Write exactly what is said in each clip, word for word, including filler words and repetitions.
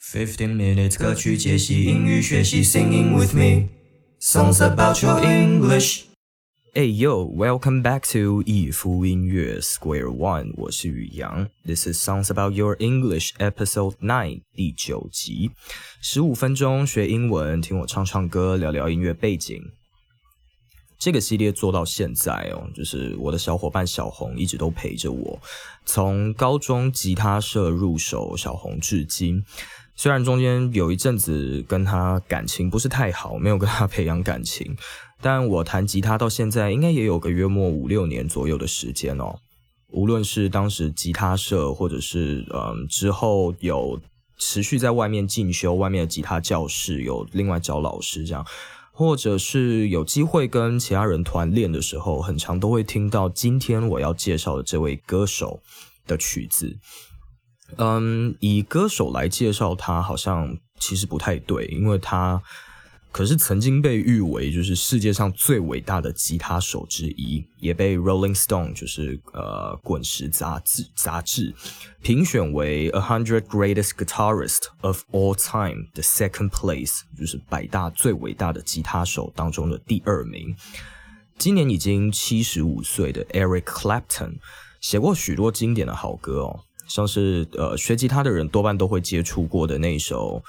Fifteen minutes 歌曲解析英语学习 Singing with me Songs about your English Hey yo, welcome back to 一夫音乐 Square One， 我是宇阳。This is Songs About Your English Episode nine 第九集，十五分钟学英文，听我唱唱歌，聊聊音乐背景。这个系列做到现在哦，就是我的小伙伴小红一直都陪着我，从高中吉他社入手，小红至今。虽然中间有一阵子跟他感情不是太好，没有跟他培养感情，但我弹吉他到现在应该也有个约莫五六年左右的时间哦。无论是当时吉他社，或者是嗯之后有持续在外面进修，外面的吉他教室有另外找老师这样，或者是有机会跟其他人团练的时候，很常都会听到今天我要介绍的这位歌手的曲子。嗯，以歌手来介绍他好像其实不太对，因为他可是曾经被誉为就是世界上最伟大的吉他手之一，也被 Rolling Stone 就是呃滚石杂志杂志评选为 A Hundred Greatest Guitarist of All Time 的 Second Place， 就是百大最伟大的吉他手当中的第二名。今年已经七十五岁的 Eric Clapton 写过许多经典的好歌哦。像是呃学吉他的人多半都会接触过的那一首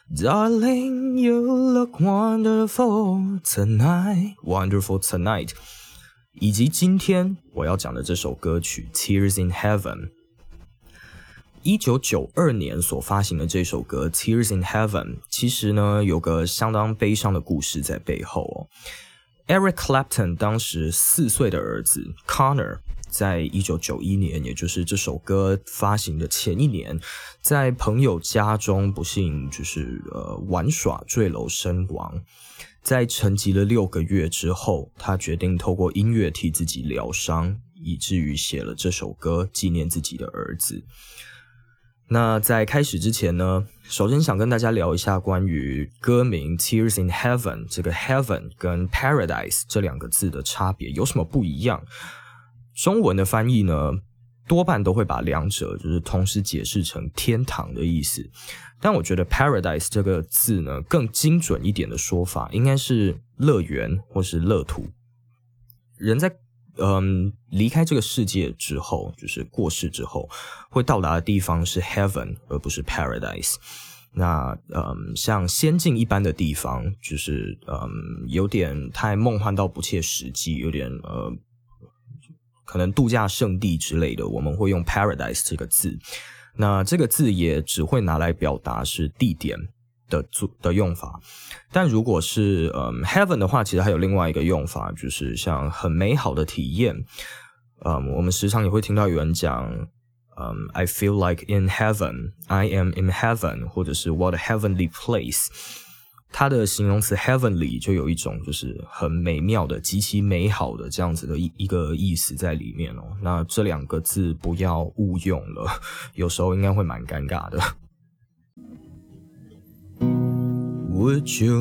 Darling, you look wonderful tonight, wonderful tonight， 以及今天我要讲的这首歌曲 Tears in Heaven。一九九二年所发行的这首歌 Tears in Heaven 其实呢有个相当悲伤的故事在背后哦。Eric Clapton 当时四岁的儿子 Connor在一九九一年，也就是这首歌发行的前一年，在朋友家中不幸就是呃玩耍坠楼身亡。在沉寂了六个月之后，他决定透过音乐替自己疗伤，以至于写了这首歌纪念自己的儿子。那在开始之前呢，首先想跟大家聊一下关于歌名 Tears in Heaven， 这个 Heaven 跟 Paradise 这两个字的差别有什么不一样。中文的翻译呢，多半都会把两者就是同时解释成天堂的意思，但我觉得 Paradise 这个字呢，更精准一点的说法应该是乐园或是乐土。人在嗯离开这个世界之后，就是过世之后，会到达的地方是 Heaven 而不是 Paradise。那嗯，像仙境一般的地方，就是嗯有点太梦幻到不切实际，有点呃。可能度假胜地之类的，我们会用 paradise 这个字。那这个字也只会拿来表达是地点的的用法。但如果是嗯 heaven 的话，其实还有另外一个用法，就是像很美好的体验。嗯，我们时常也会听到有人讲，嗯 I feel like in heaven, I am in heaven， 或者是 what a heavenly place。它的形容词 heavenly 就有一种就是很美妙的极其美好的这样子的一一个意思在里面哦。那这两个字不要误用了，有时候应该会蛮尴尬的。Would you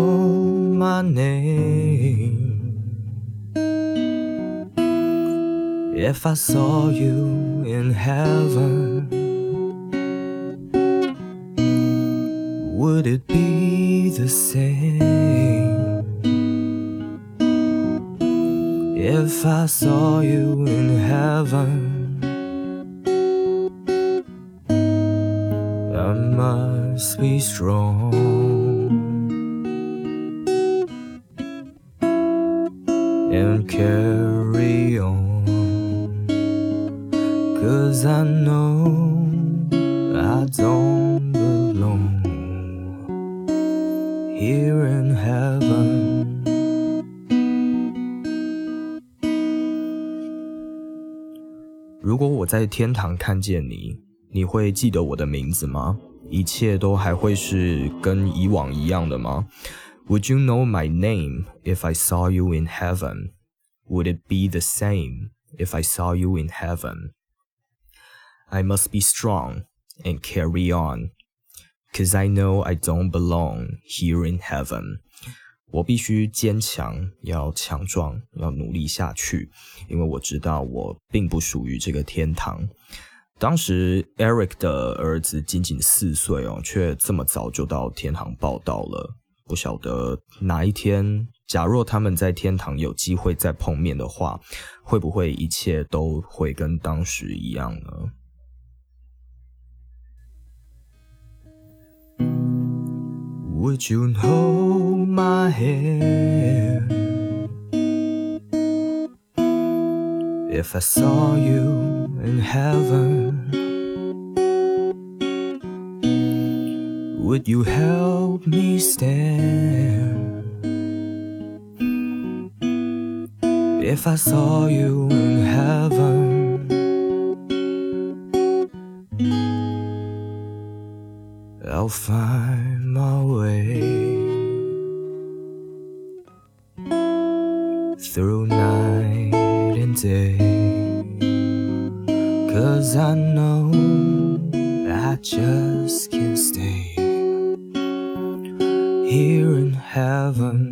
know my name if I saw you in heaven?Would it be the same if I saw you in heaven? I must be strong and carry on, 'cause I know I don't belong.Here in heaven， 如果我在天堂看见你，你会记得我的名字吗？一切都还会是跟以往一样的吗？ Would you know my name if I saw you in heaven? Would it be the same if I saw you in heaven? I must be strong and carry on.Cause I know I don't belong here in heaven. 我必须坚强，要强壮，要努力下去，因为我知道我并不属于这个天堂。 当时 Eric 的儿子仅仅四岁哦，却这么早就到天堂报道了。不晓得哪一天，假若他们在天堂有机会再碰面的话，会不会一切都会跟当时一样呢？Would you hold my hand if I saw you in heaven? Would you help me stand if I saw you in heaven? I'll find my way through night and day, 'cause I know I just can't stay here in heaven.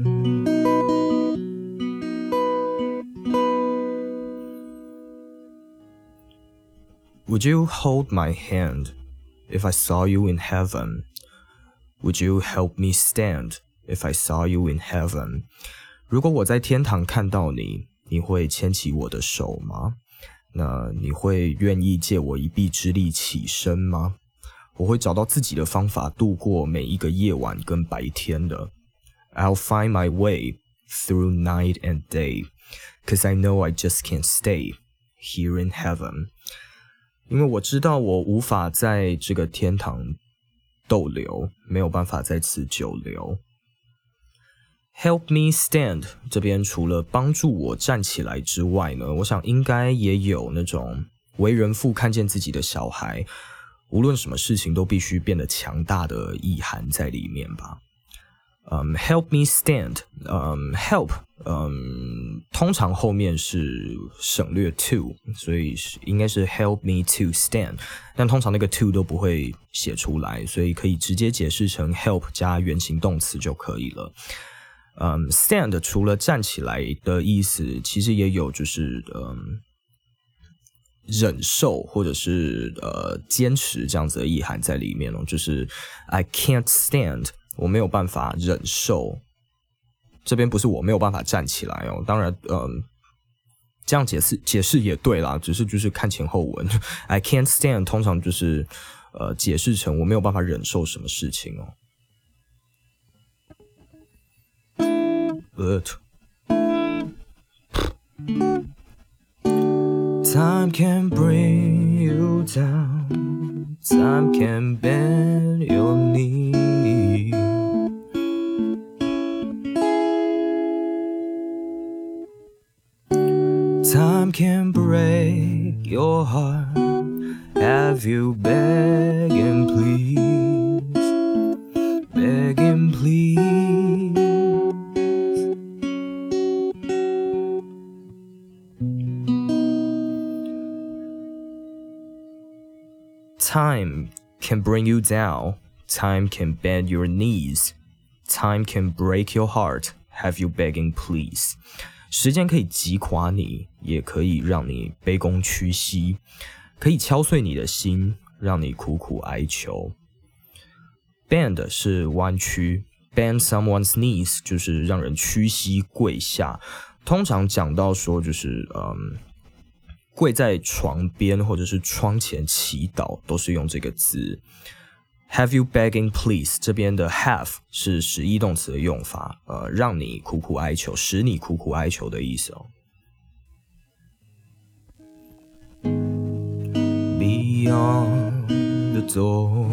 Would you hold my hand if I saw you in heaven? Would you help me stand if I saw you in heaven? 如果我在天堂看到你，你会牵起我的手吗？那你会愿意借我一臂之力起身吗？我会找到自己的方法度过每一个夜晚跟白天的。I'll find my way through night and day, 'cause I know I just can't stay here in heaven. 因为我知道我无法在这个天堂逗留，没有办法在此久留。Help me stand 这边除了帮助我站起来之外呢，我想应该也有那种为人父看见自己的小孩，无论什么事情都必须变得强大的意涵在里面吧。Um, help me stand. Um, help. Um, 通常后面是省略 to, 所以应该是 help me to stand. 但通常那个 to 都不会写出来，所以可以直接解释成 help 加原形动词就可以了。Um, stand 除了站起来的意思，其实也有就是嗯忍受或者是呃坚持这样子的意涵在里面哦，就是 I can't stand。我没有办法忍受，这边不是我没有办法站起来哦。当然，嗯，这样解释解释也对啦，只是就是看前后文。I can't stand 通常就是呃解释成我没有办法忍受什么事情哦。But time can bring you down, time can bend your knee. Time can break your heart, have you beg and please, beg and please. Time can bring you down, time can bend your knees, time can break your heart, have you begging please. 时间可以击垮你，也可以让你卑躬屈膝，可以敲碎你的心，让你苦苦哀求。Bend 是弯曲 ，bend someone's knees 就是让人屈膝跪下。通常讲到说就是嗯，跪在床边或者是窗前祈祷，都是用这个字。Have you begging please 这边的 have 是实义动词的用法，呃，让你苦苦哀求，使你苦苦哀求的意思哦。Beyond the door,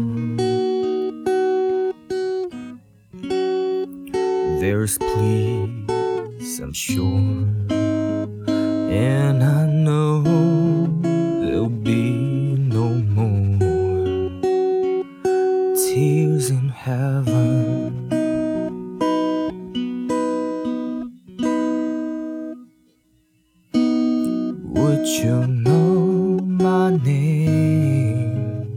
there's peace, I'm sure, and I know there'll be no more tears in heaven. Would you know my name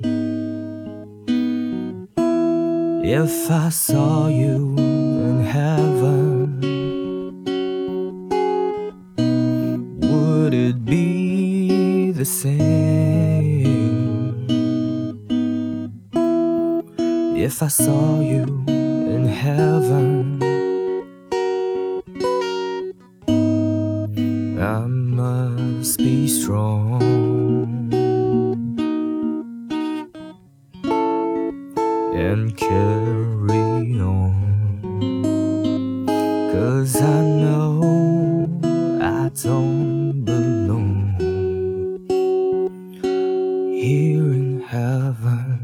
if I saw you in heaven? Would it be the same If I saw you in heaven, I must be strong and carry on, 'cause I know I don't belong here in heaven.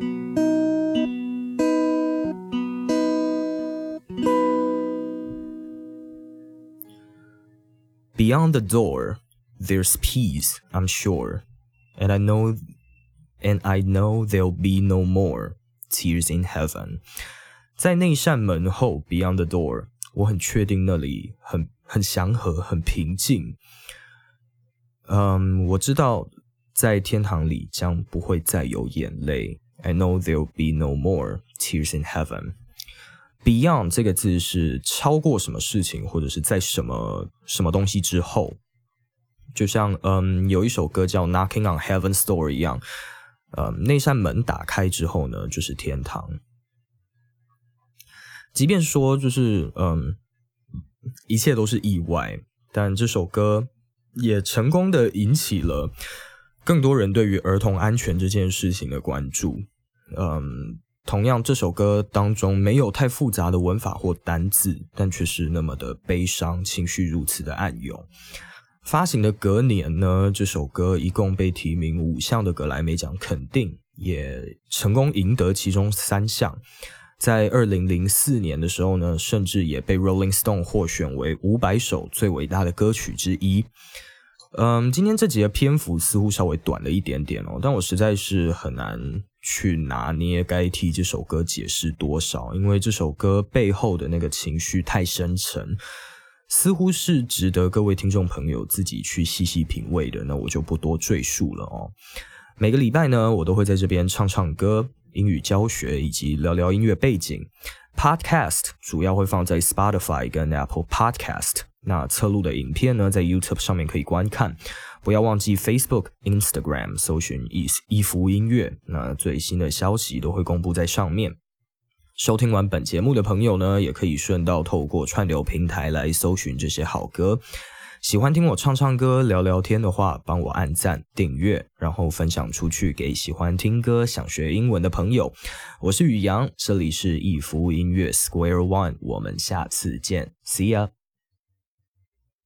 Beyond the door, there's peace, I'm sure, and I know, and I know there'll be no more tears in heaven. 在那扇门后 ，Beyond the door， 我很确定那里很很祥和，很平静。嗯，我知道在天堂里将不会再有眼泪。I know there'll be no more tears in heaven.Beyond 这个字是超过什么事情，或者是在什么什么东西之后，就像嗯有一首歌叫 Knocking on Heaven's Door 一样，嗯那扇门打开之后呢，就是天堂。即便说就是嗯一切都是意外，但这首歌也成功的引起了更多人对于儿童安全这件事情的关注。嗯。同样，这首歌当中没有太复杂的文法或单字，但却是那么的悲伤，情绪如此的暗涌。发行的隔年呢，这首歌一共被提名五项的格莱美奖肯定，也成功赢得其中三项。在二零零四年的时候呢，甚至也被 Rolling Stone 获选为五百首最伟大的歌曲之一。嗯，今天这集的篇幅似乎稍微短了一点点哦，但我实在是很难去拿捏该替这首歌解释多少，因为这首歌背后的那个情绪太深沉，似乎是值得各位听众朋友自己去细细品味的，那我就不多赘述了哦。每个礼拜呢，我都会在这边唱唱歌、英语教学以及聊聊音乐背景。Podcast 主要会放在 Spotify 跟 Apple Podcast， 那侧录的影片呢，在 YouTube 上面可以观看。不要忘记 Facebook、Instagram 搜寻一福音乐，那最新的消息都会公布在上面。收听完本节目的朋友呢，也可以顺道透过串流平台来搜寻这些好歌。喜欢听我唱唱歌、聊聊天的话，帮我按赞、订阅，然后分享出去给喜欢听歌、想学英文的朋友。我是宇阳，这里是一福音乐 Square One， 我们下次见 ，See ya。